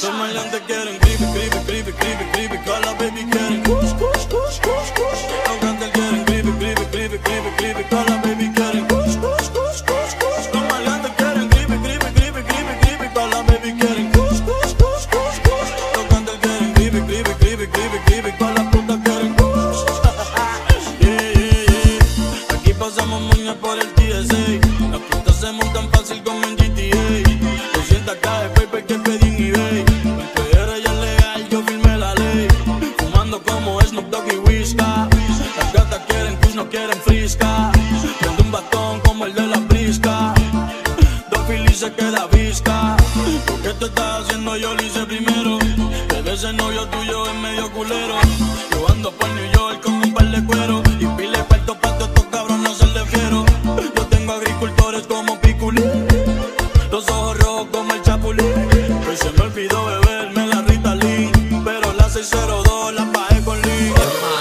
Los maleantes quieren creepy, creepy, creepy, creepy, creepy. Todas las baby quieren kush, kush, kush, kush, kush. Los grandes quieren creepy, creepy, creepy, creepy, creepy. Todas las baby quieren kush, kush, kush, kush, kush. Los maleantes quieren creepy, creepy, creepy, creepy, creepy. Todas las baby quieren kush, kush, kush, kush, kush. Los grandes quieren creepy, creepy, creepy, creepy, creepy. Todas las putas quieren kush. Yeah, yeah, yeah. Aquí pasamos moñas por el TSA. Las putas se montan fácil como en GTA. 200K de paper que pedí en eBay. El PR ya es legal, yo firmé la ley. Fumando como Snoop Dogg y Whisca. Las gatas quieren kush, no quieren frisca. Prendo un batón como el de la brisca. Dos filis se queda visca. ¿Por qué te estás haciendo? Yo lo hice primero. Bebé, ese novio tuyo es medio culero. Yo ando por New York con un par de cuero. Y pile cuarto pa' todos estos cabrones se le fiero. Yo tengo agricultores como Piculín. Los ojos rojos como el Chapulín. Hoy se me olvidó beberme la Ritalin. Pero la 602 la pagué con Lee.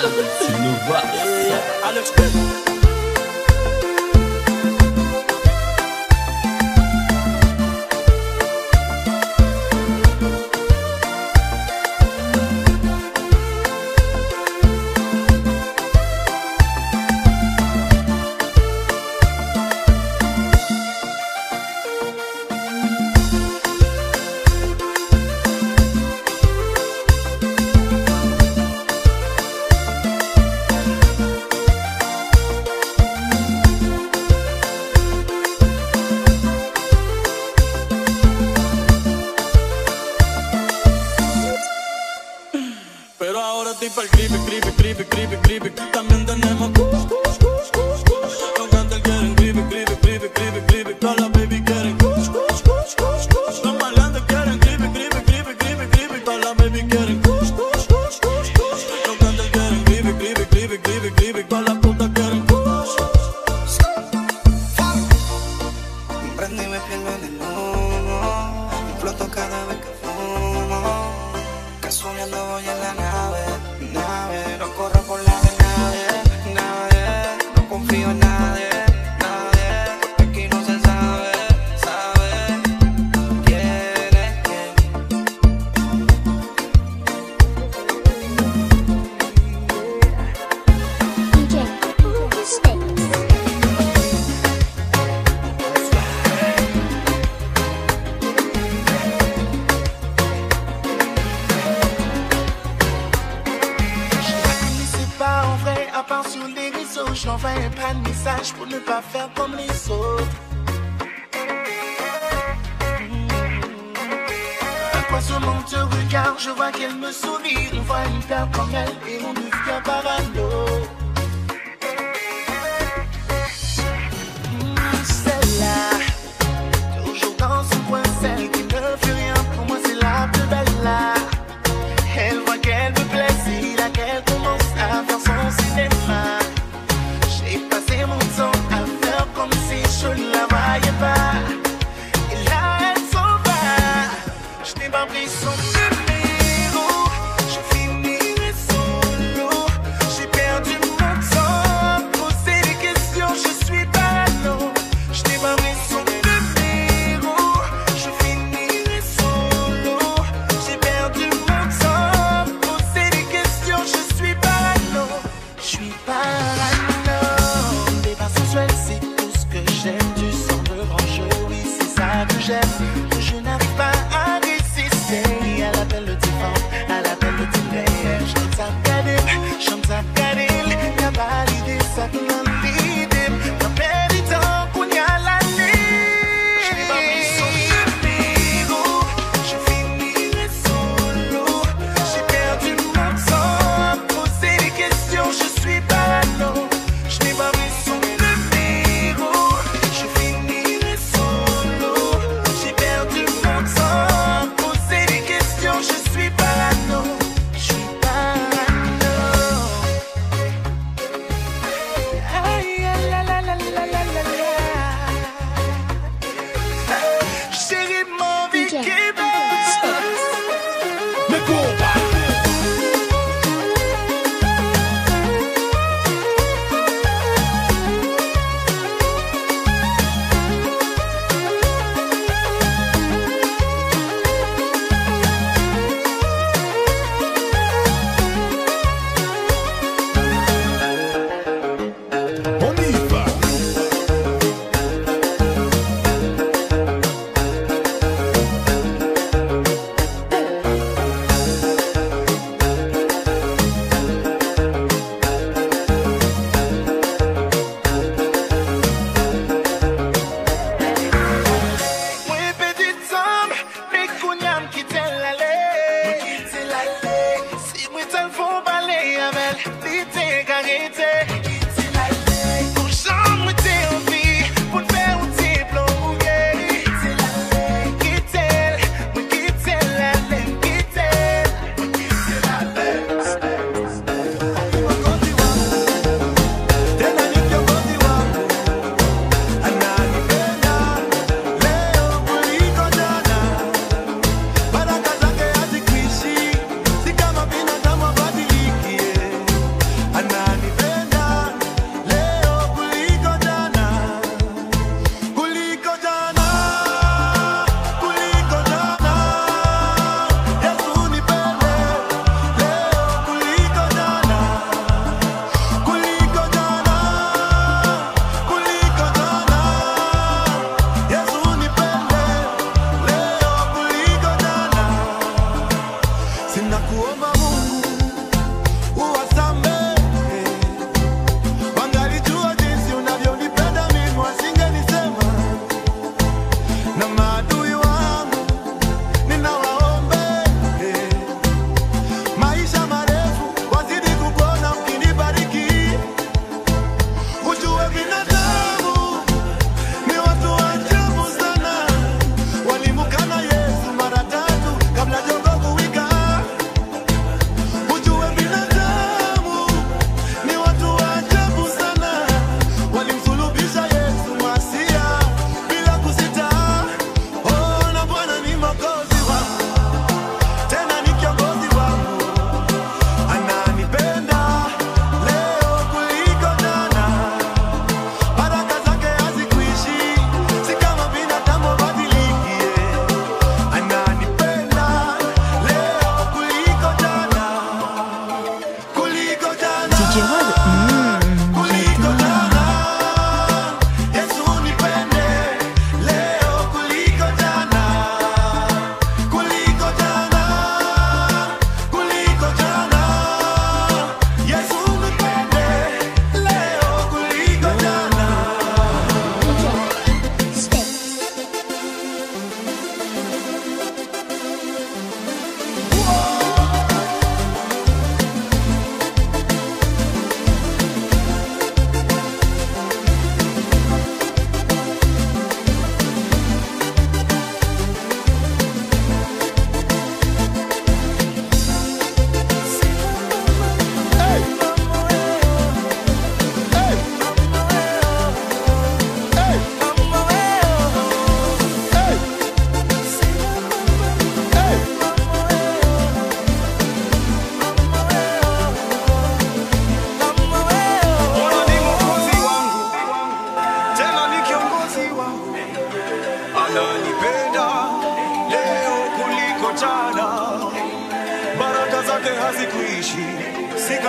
Alex P. Pero ahora estoy pa'l creepy, creepy, creepy, creepy, creepy. También tenemos kush, kush, kush, kush, kush. Los grandes quieren creepy, creepy, creepy, creepy, creepy. Todas las baby quieren kush, kush, kush, kush, kush. Los maleantes quieren creepy, creepy, creepy, creepy, creepy. Todas las baby quieren kush, kush, kush, kush, kush. Los grandes quieren creepy, creepy, creepy, creepy, creepy. Todas las putas quieren kush. Me prendo y me pierdo en el humo. Me floto cada vez que fumo. Casualeando voy en la nave. No corro por la de nadie. No confío en nadie. Porque aquí no se sabe quién es quién. DJ Sticks. Pas en vrai, à part sur les réseaux, je n'envoie pas de message pour ne pas faire comme les autres. À quoi ce monde te regarde, je vois qu'elle me sourit. On voit une perle comme elle et on devient parano. Celle-là, toujours dans son coin, celle qui ne fait rien. Pour moi c'est la plus belle là. Elle voit qu'elle me plaît, c'est là qu'elle commence à faire son cinéma. J'ai passé mon temps à faire comme si je ne la voyais pas. Et là elle s'en va. Je n'ai pas pris son numéro. Je finirai solo. J'ai perdu mon temps. Poser des questions, je suis parano. Je n'ai pas pris son numéro. Je finirai solo. J'ai perdu mon temps. Poser des questions, je suis parano. Je suis parano. Des pas sensuels, c'est tout ce que j'aime. Du sang de grand jeu, oui, c'est ça que j'aime. Que je n'arrive pas à résister à l'appel de tes vents, à l'appel de tes rêves. Je t'aime Kadil, y'a pas l'idée, ça te m'a l'idée. T'as perdu temps qu'on y a l'année. Je n'ai pas pris son numéro. Je finirai solo. J'ai perdu mon temps. Poser des questions, je suis parano. Je n'ai pas pris son numéro. Je finirai solo. J'ai perdu mon temps. Poser des questions, je suis parano. Je suis parano.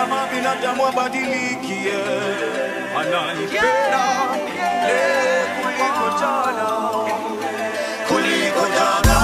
kama binadamu badiliki, ananipenda leo kuliko jana, kuliko jana.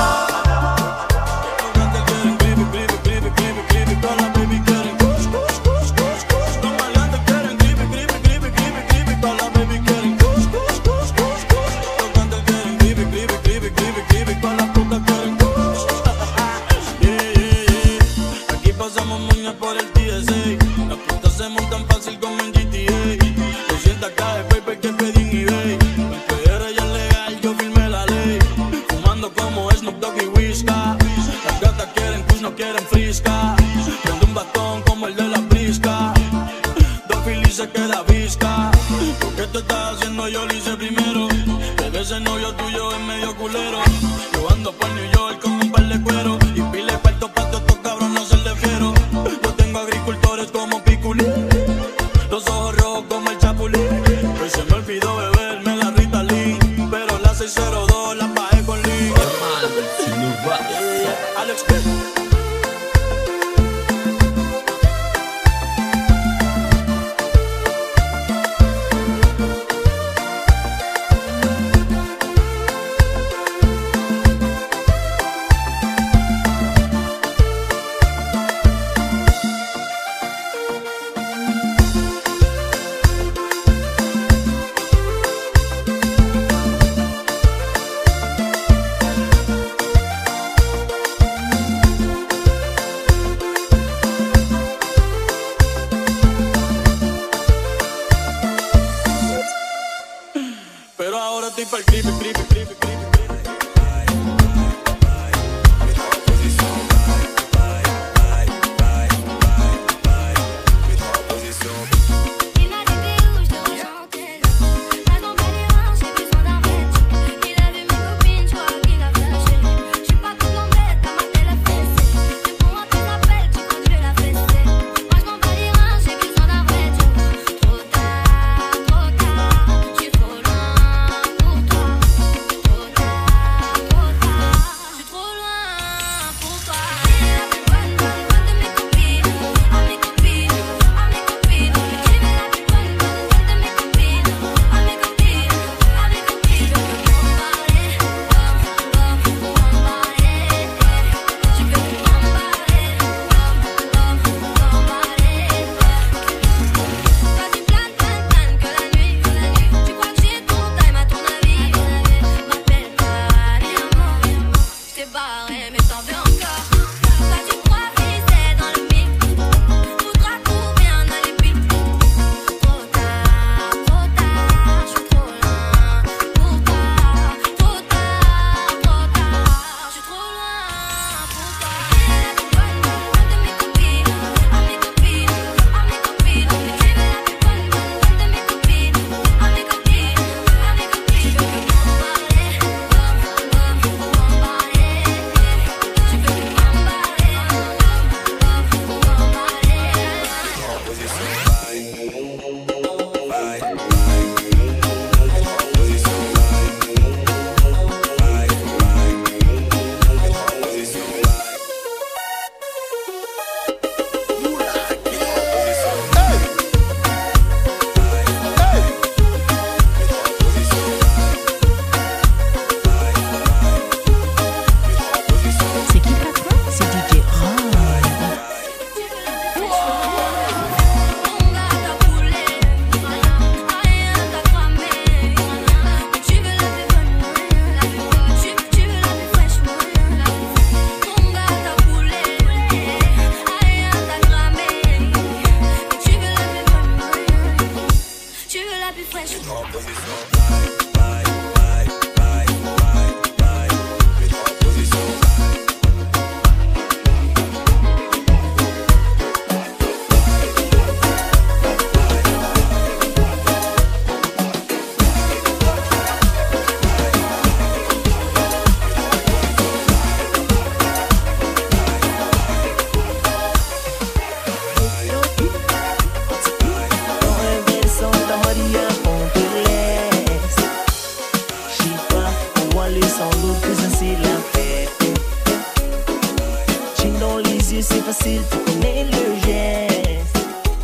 c'est facile, tu connais le geste.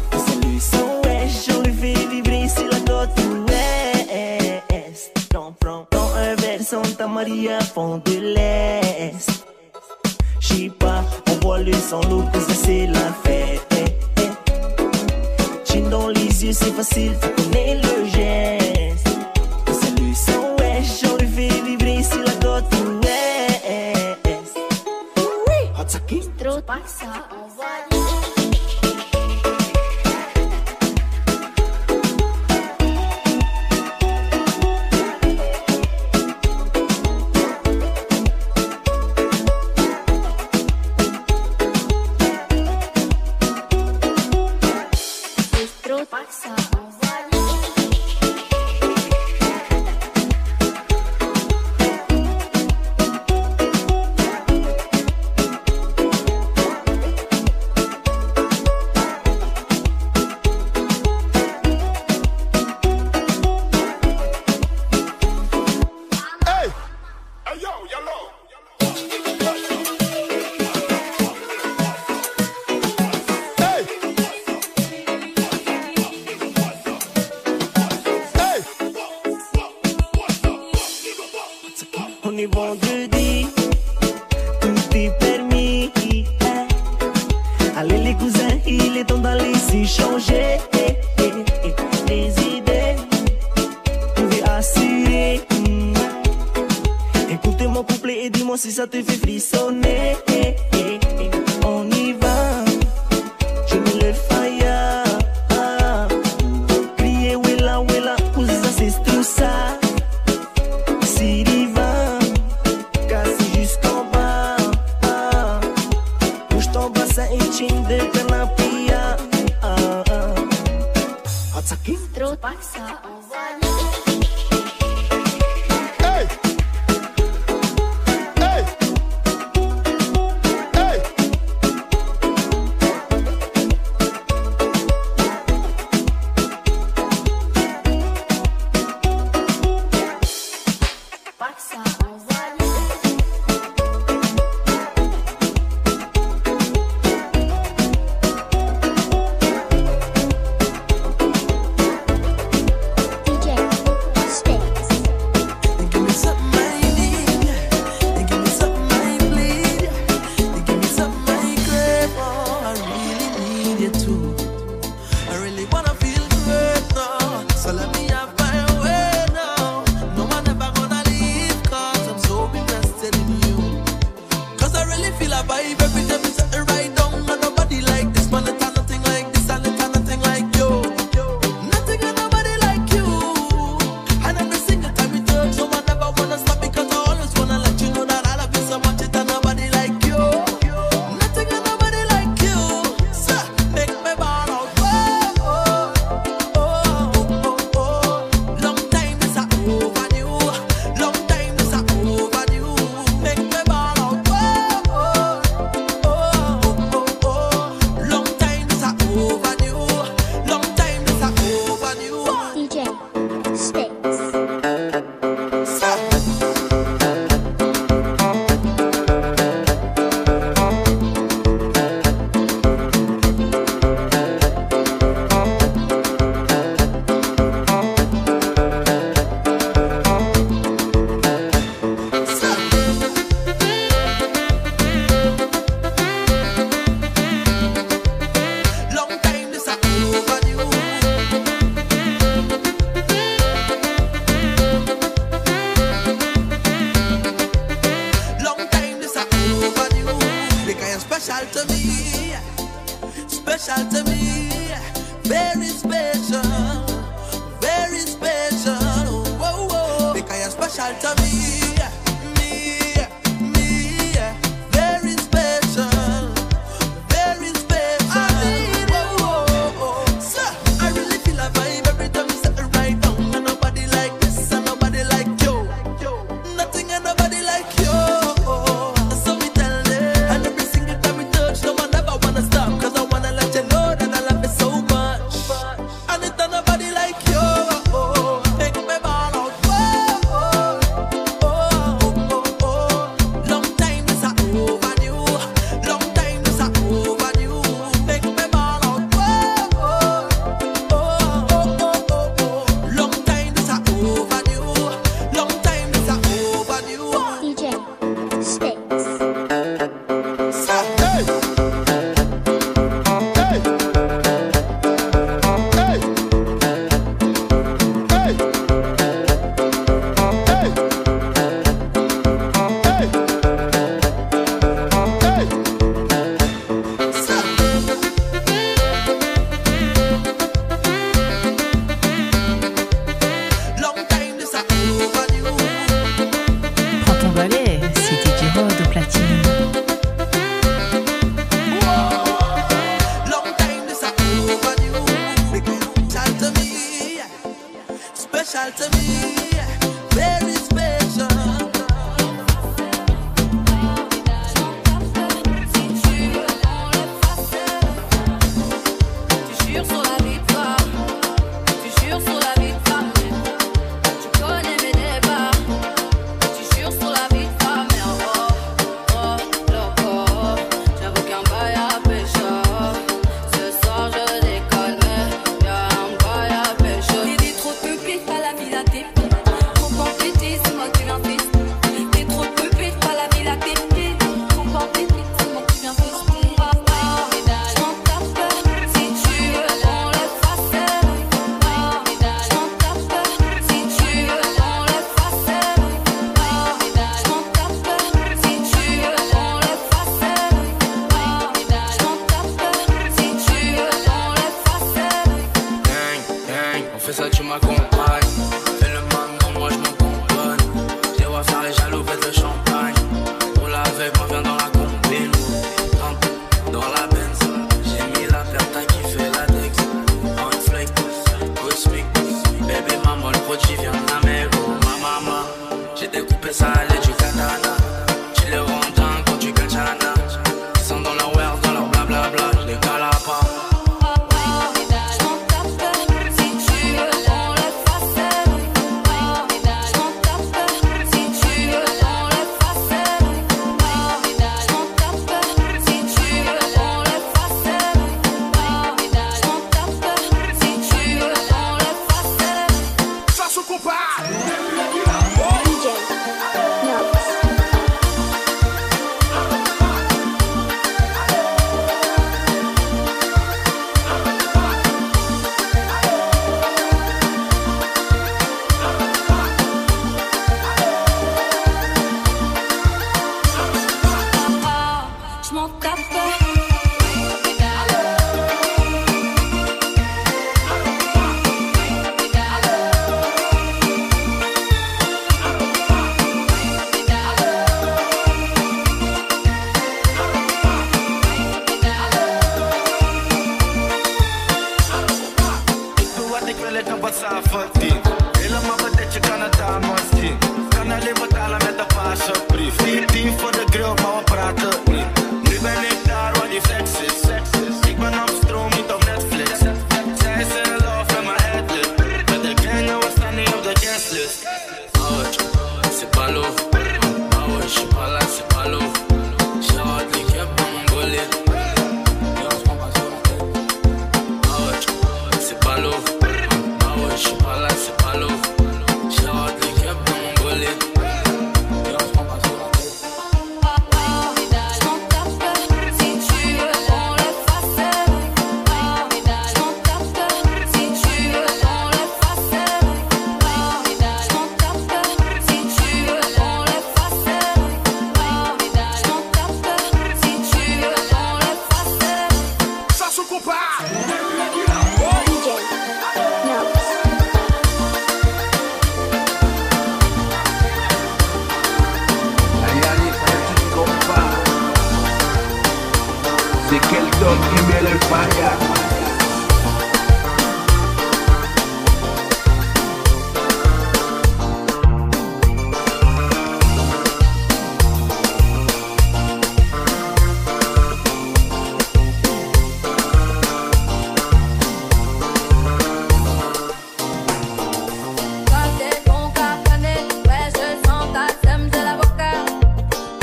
party à fond de l'Est. J'sais pas, on voit le sang, l'eau, que ça c'est la fête. Chin dans les yeux, c'est facile, tu connais le geste. C'est le sang, ouais, j'en le fais vibrer sur la côte ouest. Oui, Hatsaki, Trop passa, on va passa, on va on est vendredi, tout est permis. Allez les cousins, il est temps d'aller s'échanger des idées, pouvez assurer. Écoutez mon couplet et dis-moi si ça te fait frissonner. On y va, je mets le fire. Crier wella wella, ça c'est tout ça. De canapia, Hatsaki, Trop passa, on va Hey! Hey! Hey! passa, on va special to me, very special.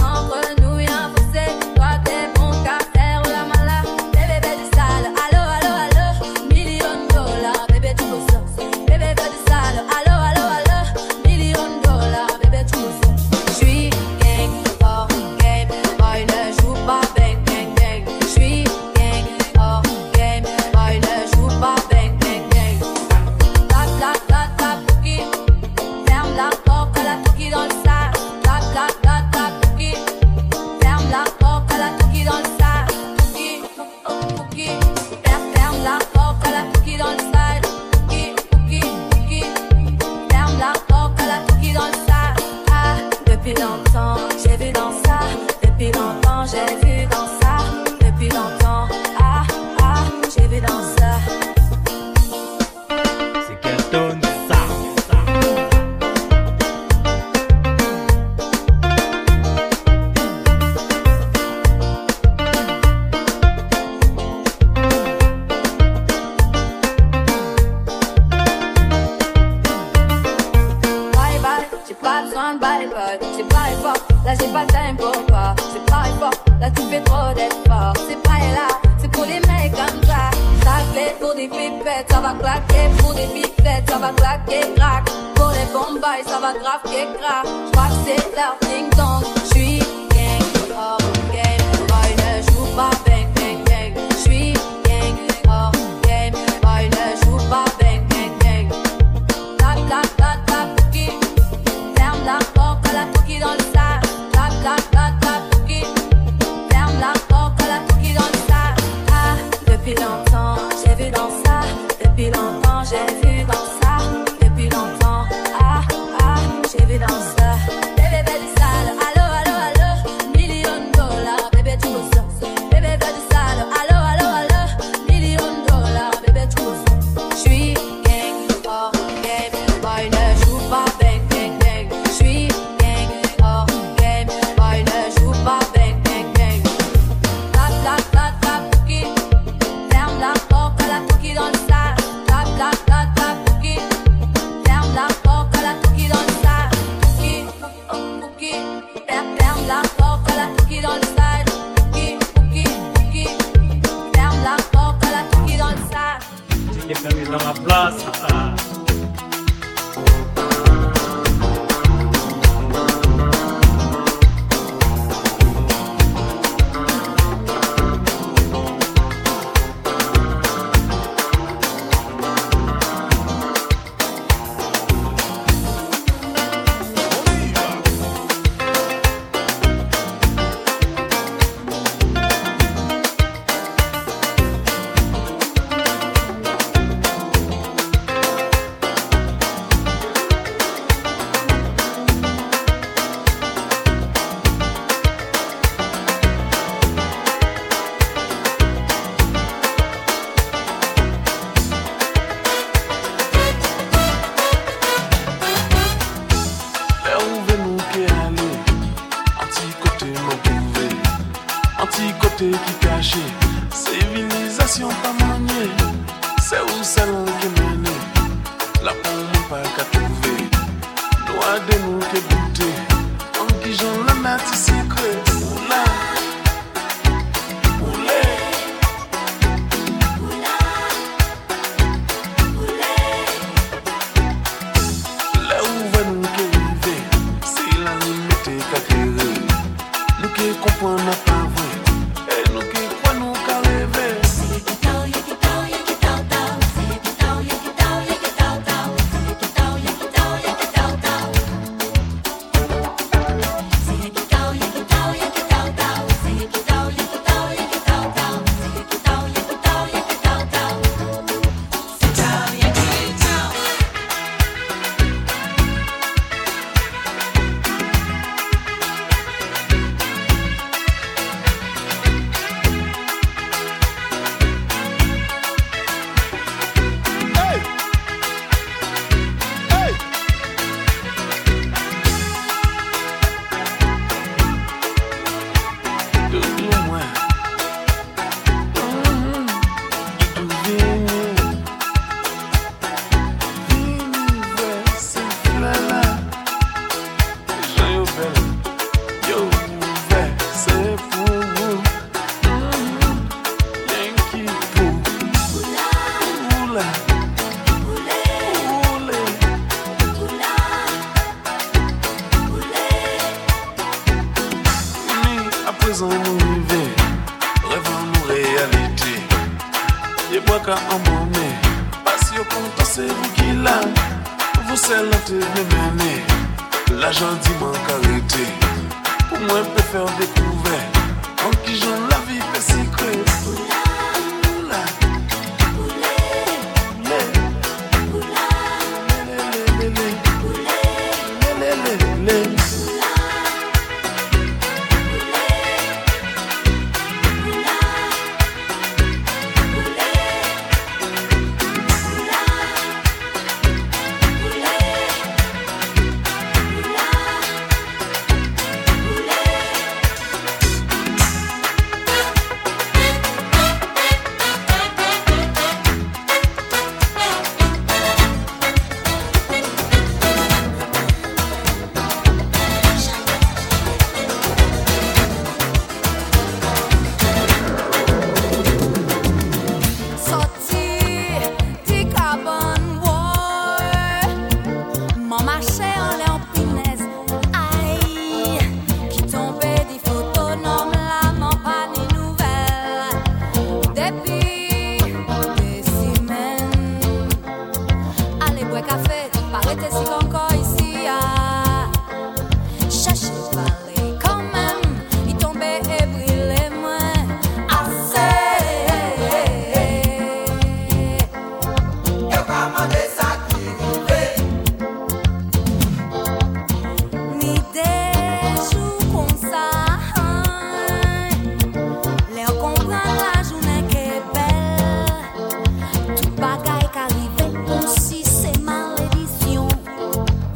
Entre nous, y'a un fossé. Toi, t'es bon qu'à faire la malade. Des bébés du sale. Allô, allô. c'est pas time pour toi. C'est pas fort, là tu fais trop d'efforts. C'est pas là, c'est pour les mecs comme ça. Ça fait pour des pipettes, ça va claquer. Pour des pipettes, ça va claquer, crack. Pour les bombes, ça va grave, crack. J'crois que c'est leur ding-dong. J'suis gang, hors game. Boy, ne joue pas bang, bang, bang. J'suis gang, hors game. Boy, ne joue pas bang, bang, bang. Tap, tap, tap, tap, cookie. Ferme la porte à la cookie dans le sac. Tap, tap, tap, tap, cookie. Ferme la porte à la cookie dans le sac. Ah, depuis longtemps, j'ai vu dans ça. Depuis longtemps, j'ai vu dans ça. Depuis longtemps, ah, ah, j'ai vu dans ça. Bébé, bébé, sale, allo, allo, allo. $1,000,000, bébé, tu le sens. Bébé, bébé, sale, allo, allo, allo. $1,000,000, bébé, tu le sens. J'suis gang, hors game. Boy, ne joue pas bang, bang, bang. J'suis gang, hors game. Boy, ne joue pas bang, bang, bang. Tap, tap, tap, tap, cookie. Ferme la porte à la cookie dans le sac. Tap, tap, tap, tap, cookie. Ferme la porte à la cookie dans le sac. Cookie, oh, cookie. Ferme la porte à la cookie dans le sac. Cookie, cookie, cookie. Ferme la porte à la cookie dans le sac. J'ai permis dans la place. Anti-côté qui caché, civilisation pas maniée, c'est où salon qui mène, la pomme pas qu'à trouver, doigt de nous qui goûter, en qui j'en la mati secret, oula, oulé, là où va nous qui arriver, c'est la limite qu'à créer, nous qui comprenons pas. bois café, paraît si encore ici. Cherchez parler quand même, il tombait et brûlait moins. Assez. Yo pas de ça qui vivait. Ni des jours comme ça. Les comprendre la journée qui est belle. Tout bagaille qui arrive comme si c'est malédiction.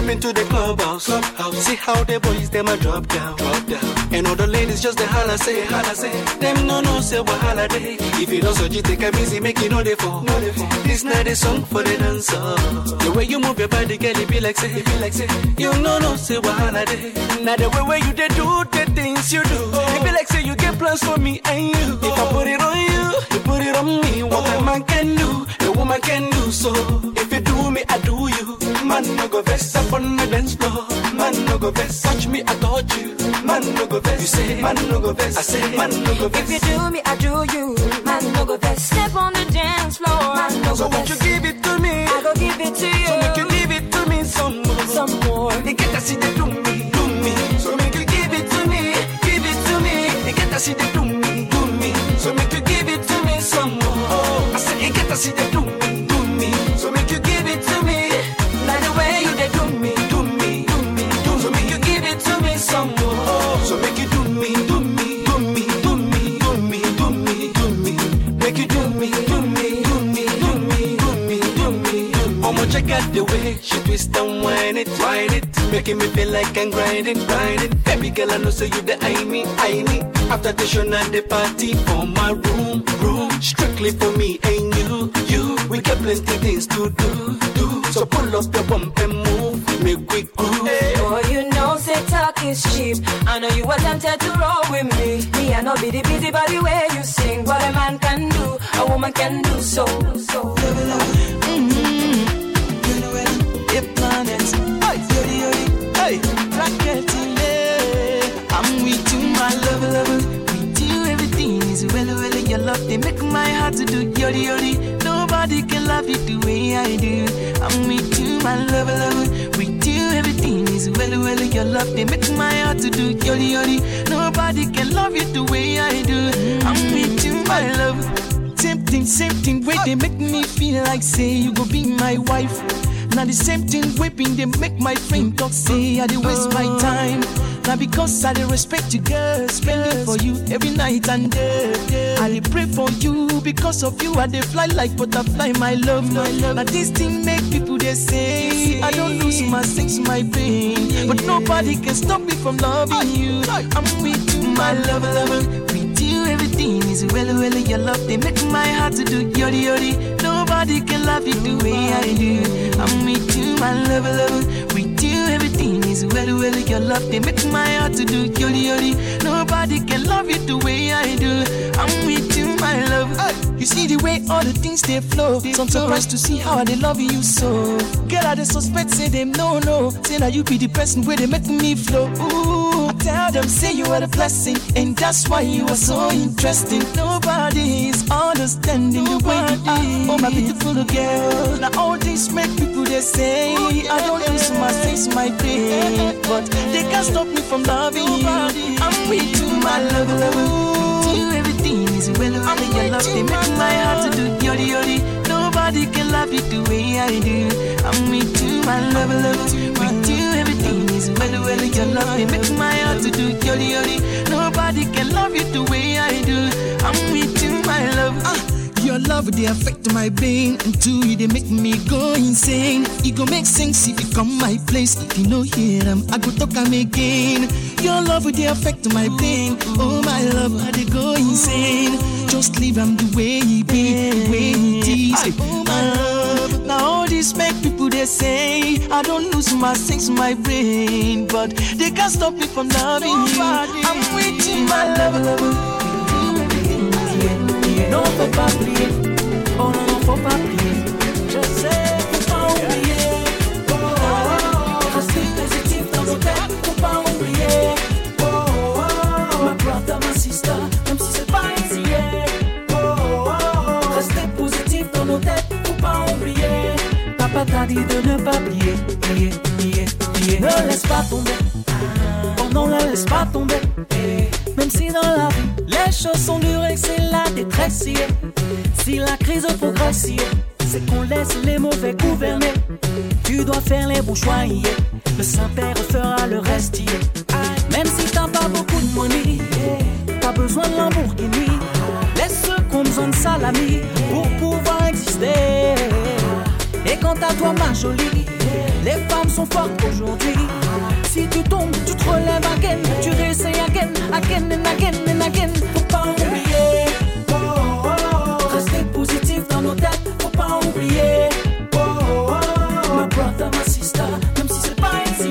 them into the clubhouse. See how the boys them a drop down. And all the ladies just the holla say. Them no say what holiday. If you don't so you take a busy, make you know they fall. This not a song for the dancer. The way you move your body, girl, it be like say. You no say what holiday. Now the way you they do the things you do. It be like say you get plans for me and you. If I put it on you, you put it on me. What a man can do, a woman can do so. If you do me, I do you. Man no go vest up on the dance floor. Man no go vest, touch me, I touch you. Man no go vest, you say. Man no go vest, I say. Man no go vest. If you do me, I do you. Man no go vest, step on the dance floor. Man no so go won't vest. you give it to me? I go give it to you. So make you give it to me some more. They get to see they do me. So make you give it to me. They get to see they do me. So make you give it to me some more. I say, they get to see they do me. So make you give it to me. Like the way you they do me. So make you give it to me some more. So make you do me. Make you do me. Check out the way she twist and whine it, making me feel like I'm grinding. Baby girl, I know say you the I me. After the show, now the party for my room, strictly for me and you. We got plenty things to do. So pull up your bump and move, make we groove. Oh, you know, say talk is cheap. I know you were tempted to roll with me. Me, I know be the busy by the way you sing. What a man can do, a woman can do so. Planets, hey, rocket I'm with you, my lover. With you, everything is well. Your love, they make my heart to do yori. Nobody can love you the way I do. I'm with you, my lover. With you, everything is well. Your love, they make my heart to do yori. Nobody can love you the way I do. I'm with you, my love. Same thing, way they make me feel like say you go be my wife. Now the same thing whipping, they make my friend talk, say I dey waste my time. Now because I dey respect you, girl, spending for you every night and day. I dey pray for you, because of you I dey fly like butterfly, my love. Now this thing make people they say I don't lose my sense, my pain, but nobody can stop me from loving you. I'm with you, my lover. With you everything is well. Your love they make my heart to do yori. Nobody can love you the way I do. I'm with you, my lover. With you everything is well. Your love they make my heart to do yori. Nobody can love you the way I do. I'm with you, my love. You see the way all the things they flow. So I'm surprised to see how they love you so. Girl, I dey suspect say them no. Say now you be the person where they make me flow. Ooh, I tell them say you are the blessing, and that's why you are so interesting. Nobody is understanding the way you are. Oh my beautiful girl. Now all this make people they say I don't lose my sense, my pain, but they can't stop me from loving you. I'm with you, my love. With you everything is well. Your love they make my heart to do yori. Nobody can love you the way I do. I'm with you, my love. With you everything is well. Your love they make my heart to do yori. Nobody can love you the way I do. I'm with you, my love. Your love, they affect my brain. And two, they make me go insane. It go make sense if you come my place. If you know hear them, I go talk them again. Your love, they affect my brain. Oh my love, how they go insane. Just leave them the way he be, the way he is. Oh my love. Now all this make people they say I don't lose my sense, my brain, but they can't stop me from loving you. I'm with you, my love. Non, faut pas plier. Oh non, faut pas plier. Je sais, faut pas oublier. Rester positif dans nos têtes, faut pas oublier. My brother, my sister, même si c'est pas easy. Rester positif dans nos têtes, faut pas oublier. Papa t'a dit de ne pas plier. Ne laisse pas tomber. Oh non, ne laisse pas tomber. Même si dans la vie, les choses sont dures et que c'est la détresse. Si la crise progresse, c'est qu'on laisse les mauvais gouverner. Tu dois faire les bons choix. Le Saint-Père fera le reste. Même si t'as pas beaucoup de money, t'as besoin de Lamborghini. Laisse ceux qui ont besoin de salami pour pouvoir exister. Et quant à toi, ma jolie, Les femmes sont fortes aujourd'hui. Si tu tombes, tu te relèves again. Tu réessayes again, again and again and again. Faut pas oublier. Rester positif dans nos têtes. Faut pas oublier. My brother, my sister, même si c'est pas easy.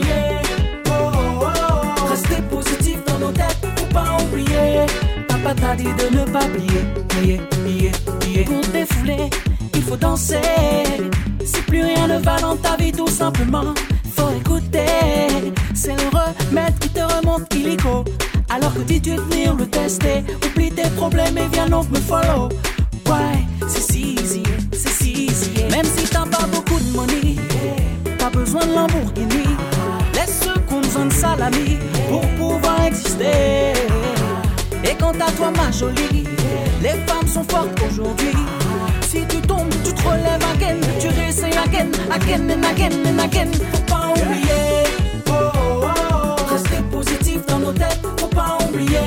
Rester positif dans nos têtes. Faut pas oublier. Papa t'a dit de ne pas oublier. Pour te défouler, il faut danser. Si plus rien ne va dans ta vie, tout simplement, faut écouter. C'est le remède qui te remonte illico. Alors que dis-tu venir le tester. Oublie tes problèmes et viens donc me follow. Ouais, c'est si easy. Même si t'as pas beaucoup de money, t'as besoin de Lamborghini. Laisse ceux qui ont besoin de salami pour pouvoir exister. Et quant à toi ma jolie, les femmes sont fortes aujourd'hui. Si tu tombes, tu te relèves again. Tu réessayes again and again. Faut pas oublier. Rester positif dans nos têtes. Faut pas oublier.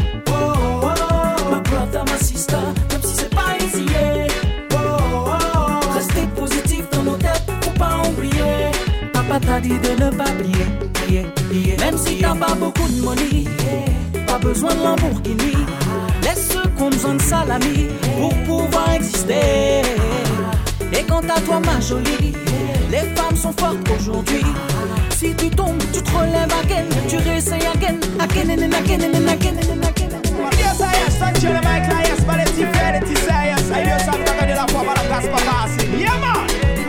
My brother, my sister, même si c'est pas easy. Rester positif dans nos têtes. Faut pas oublier. Papa t'a dit de ne pas oublier. Même si t'as pas beaucoup de money, pas besoin de Lamborghini. Laisse ceux qui ont besoin de salami pour pouvoir exister. Et quant à toi ma jolie, les femmes sont fortes aujourd'hui. Si tu tombes, tu te relèves again. Tu réessayes again and again. Yes, thank you, my clients, but it's infinity science. I know some talking to the former gospel passing. Yeah, man.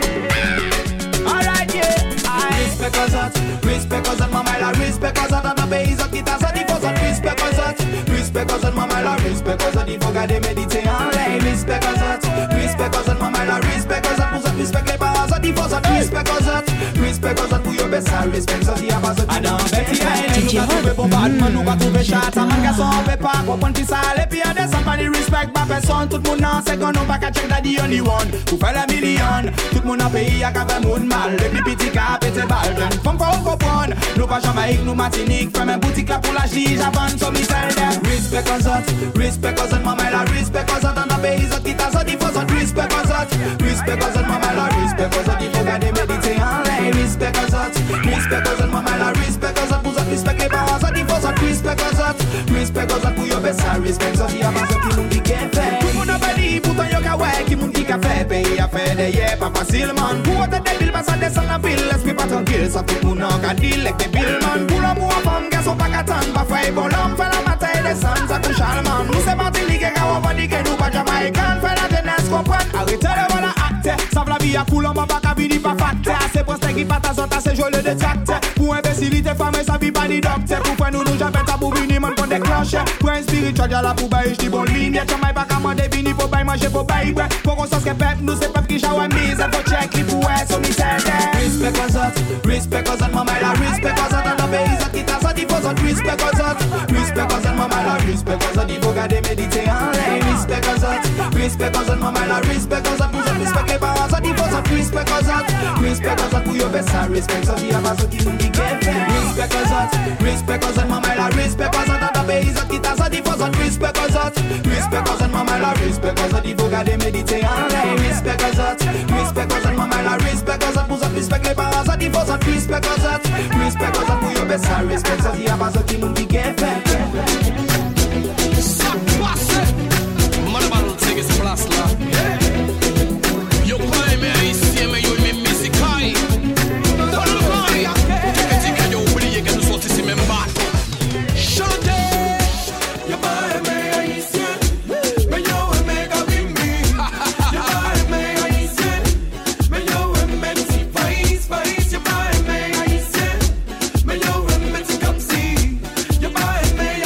Alright, yeah. Respect cause that, mama, la respect cause that, and the bass of guitar, so the force of respect cause that, mama, la respect cause that, the forgot de méditer en l'air. Respect cause that, mama, la respect cause that, pour ça, respect les parents, so the force of respect cause that, pour your best, respect, so the abas of Adam, Betty, nous va trouver bon badman, nous va trouver chat, man, garçon, on veut pas comprendre qui ça, et puis y'a des somebody respect, ma personne, tout le monde en second, on va qu'à check that the only one, pour faire la million, tout le monde en pays, y'a qu'à faire moun mal, et puis petit cap, et t'es balden, femme pas au comprendre, nous pas Jamaïque, nous Martinique, fais même boutique là pour la gige, avant, so me tell them, respect cause that, mama, la respect cause that, and the pays of guitar, so the force of respect cause that, mama, la respect cause that, the forgot de méditer en l'air, respect cause that, mama, la respect cause that, pour ça, respect les parents, so the force of respect cause that, pour your best, respect, so the abas of qui moun qui qu'est fait, tout moun a badi, pourtant yo ka ouais, qui moun qui ka fait, pays a fait des yeux, pas facile, man, pour autant des billes, pas ça descend la ville, l'esprit pas tranquille, ça fait moun an ka deal, avec des billes, man, pour l'amour en femme, garçon pas qu'attendre, pas frère, bon l'homme, fait la matin et descend, ça couche allemand, nous c'est Martinique, et quand on va dire que nous pas Jamaïcain, fait la jeunesse, comprendre, arrêtez le voilà acte, savent la vie à cool, on va pas cabiner, pas facte, c'est pour ce qui pas ta zone, c'est joli de tracte, pour imbécilité, femme, ça vit pas ni docteur, pour faire nous jamais ta pour venir, man, pour des cloches, pour un spirituel, y'a la pour bailler, j'dis bonne ligne, Jamaï pas qu'à m'en définir, pour bailler, manger, pour bailler, pour qu'on s'en peuple, nous c'est peuple qui j'aouait mise, pour check, il pour être, so me tell them, respect cause that, mama, la respect cause that, and the bass of guitar, so the force of respect cause that, mama, la respect cause that, the forgot de méditer en l'air, respect cause that, mama, la respect cause that, pour ça, respect les parents, so the force of respect cause that, pour your best, respect, so the abas of qui moun qui qu'est fait, respect cause that, mama, la respect cause that, and the bass of guitar, so the force of respect cause that, mama, la respect cause that, the forgot de méditer en l'air, respect cause that, mama, la respect cause that, pour ça, respect les parents, so the force of respect cause that, pour your best, respect, so the abas of qui moun qui qu'est fait. Place là, yo quoi mais ici mais yo même musique aïe, que yo oublié que nous sommes ici même pas. Chantez, yo pas mais ici, mais yo mais kabimbi, yo pas mais ici, mais yo même si face, yo pas mais ici, mais yo même si comme si, yo pas mais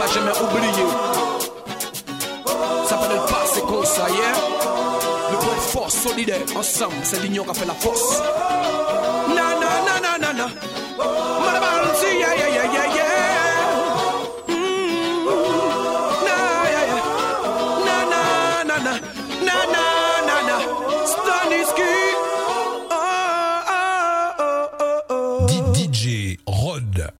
va jamais oublier. Ça peut pas, c'est comme ça, yeah. Le point force, solidaire, ensemble, c'est l'union qui a fait la force. Na na na na na na. Madame, yeah yeah yeah yeah yeah. Na yeah yeah. Na na na na na na na na. Staniski. DJ